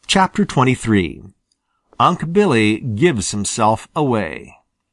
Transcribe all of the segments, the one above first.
Chapter 23 Unc' Billy Gives Himself Away.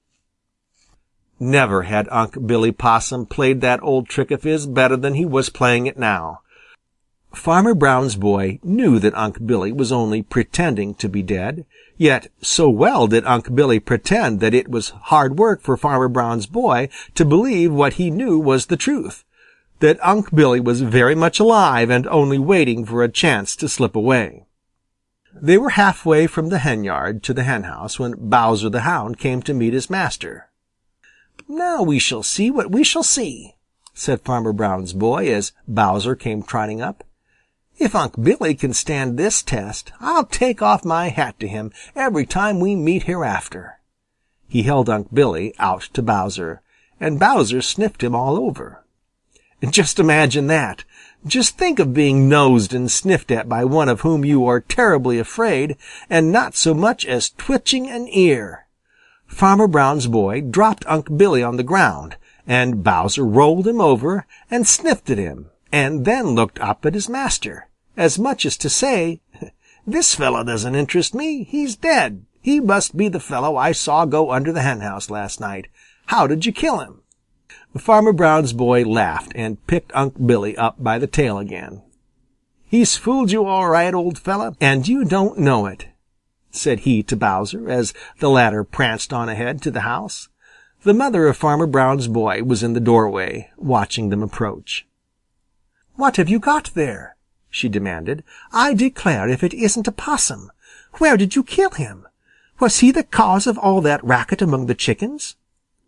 Never had Unc' Billy Possum played that old trick of his better than he was playing it now. Farmer Brown's boy knew that Unc' Billy was only pretending to be dead, yet so well did Unc' Billy pretend that it was hard work for Farmer Brown's boy to believe what he knew was the truth, that Unc' Billy was very much alive and only waiting for a chance to slip away. They were halfway from the henyard to the henhouse when Bowser the Hound came to meet his master. "Now we shall see what we shall see," said Farmer Brown's boy as Bowser came trotting up. "If Unc' Billy can stand this test, I'll take off my hat to him every time we meet hereafter." He held Unc' Billy out to Bowser, and Bowser sniffed him all over. Just imagine that! Just think of being nosed and sniffed at by one of whom you are terribly afraid, and not so much as twitching an ear. Farmer Brown's boy dropped Unc' Billy on the ground, and Bowser rolled him over and sniffed at him, and then looked up at his master, as much as to say, "This fellow doesn't interest me. He's dead. He must be the fellow I saw go under the henhouse last night. How did you kill him?" Farmer Brown's boy laughed and picked Unc' Billy up by the tail again. "He's fooled you all right, old fellow, and you don't know it," said he to Bowser as the latter pranced on ahead to the house. The mother of Farmer Brown's boy was in the doorway, watching them approach. "What have you got there?" she demanded. "I declare if it isn't a possum. Where did you kill him? Was he the cause of all that racket among the chickens?"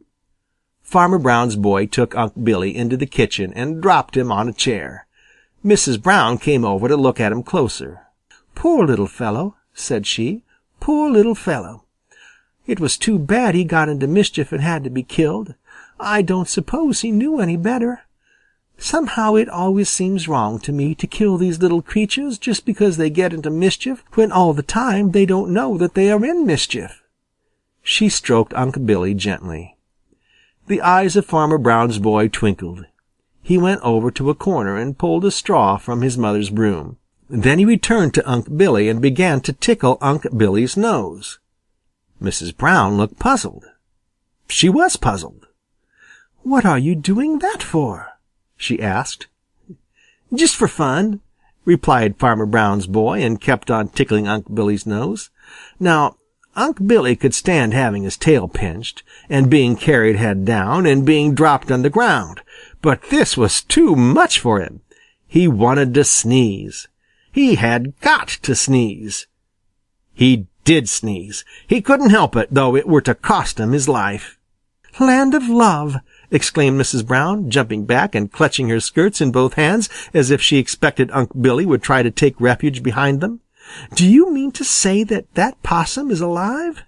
Farmer Brown's boy took Unc' Billy into the kitchen and dropped him on a chair. Mrs. Brown came over to look at him closer. "Poor little fellow," said she. "Poor little fellow. It was too bad he got into mischief and had to be killed. I don't suppose he knew any better. Somehow it always seems wrong to me to kill these little creatures just because they get into mischief when all the time they don't know that they are in mischief." She stroked Unc' Billy gently. The eyes of Farmer Brown's boy twinkled. He went over to a corner and pulled a straw from his mother's broom. Then he returned to Unc' Billy and began to tickle Unc' Billy's nose. Mrs. Brown looked puzzled. She was puzzled. "What are you doing that for?" she asked. "Just for fun," replied Farmer Brown's boy and kept on tickling Unc' Billy's nose. Now, Unc' Billy could stand having his tail pinched, and being carried head down, and being dropped on the ground, but this was too much for him. He wanted to sneeze. He had got to sneeze. He did sneeze. He couldn't help it, though it were to cost him his life. "Land of love!" exclaimed Mrs. Brown, jumping back and clutching her skirts in both hands as if she expected Unc' Billy would try to take refuge behind them. "Do you mean to say that possum is alive?"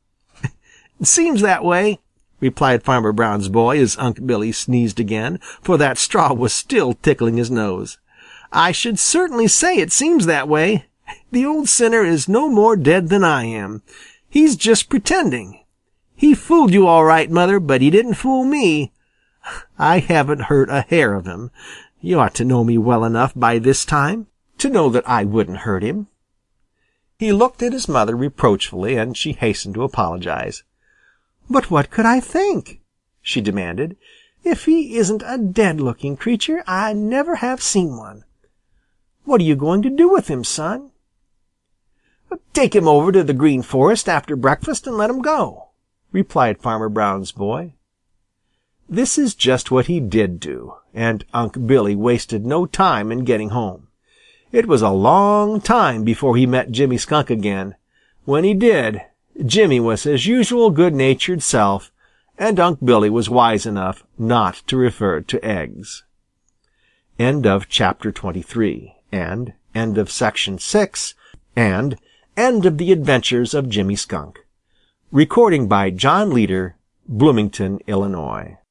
"Seems that way," replied Farmer Brown's boy as Unc' Billy sneezed again, for that straw was still tickling his nose. "I should certainly say it seems that way. The old sinner is no more dead than I am. He's just pretending. He fooled you all right, Mother, but he didn't fool me. I haven't hurt a hair of him. You ought to know me well enough by this time to know that I wouldn't hurt him." He looked at his mother reproachfully, and she hastened to apologize. "But what could I think?" she demanded. "If he isn't a dead-looking creature, I never have seen one. What are you going to do with him, son?" "Take him over to the Green Forest after breakfast and let him go," replied Farmer Brown's boy. This is just what he did do, and Unc' Billy wasted no time in getting home. It was a long time before he met Jimmy Skunk again. When he did, Jimmy was his usual good-natured self, and Unc' Billy was wise enough not to refer to eggs. End of chapter 23, and end of section 6, and end of the adventures of Jimmy Skunk. Recording by John Leader, Bloomington, Illinois.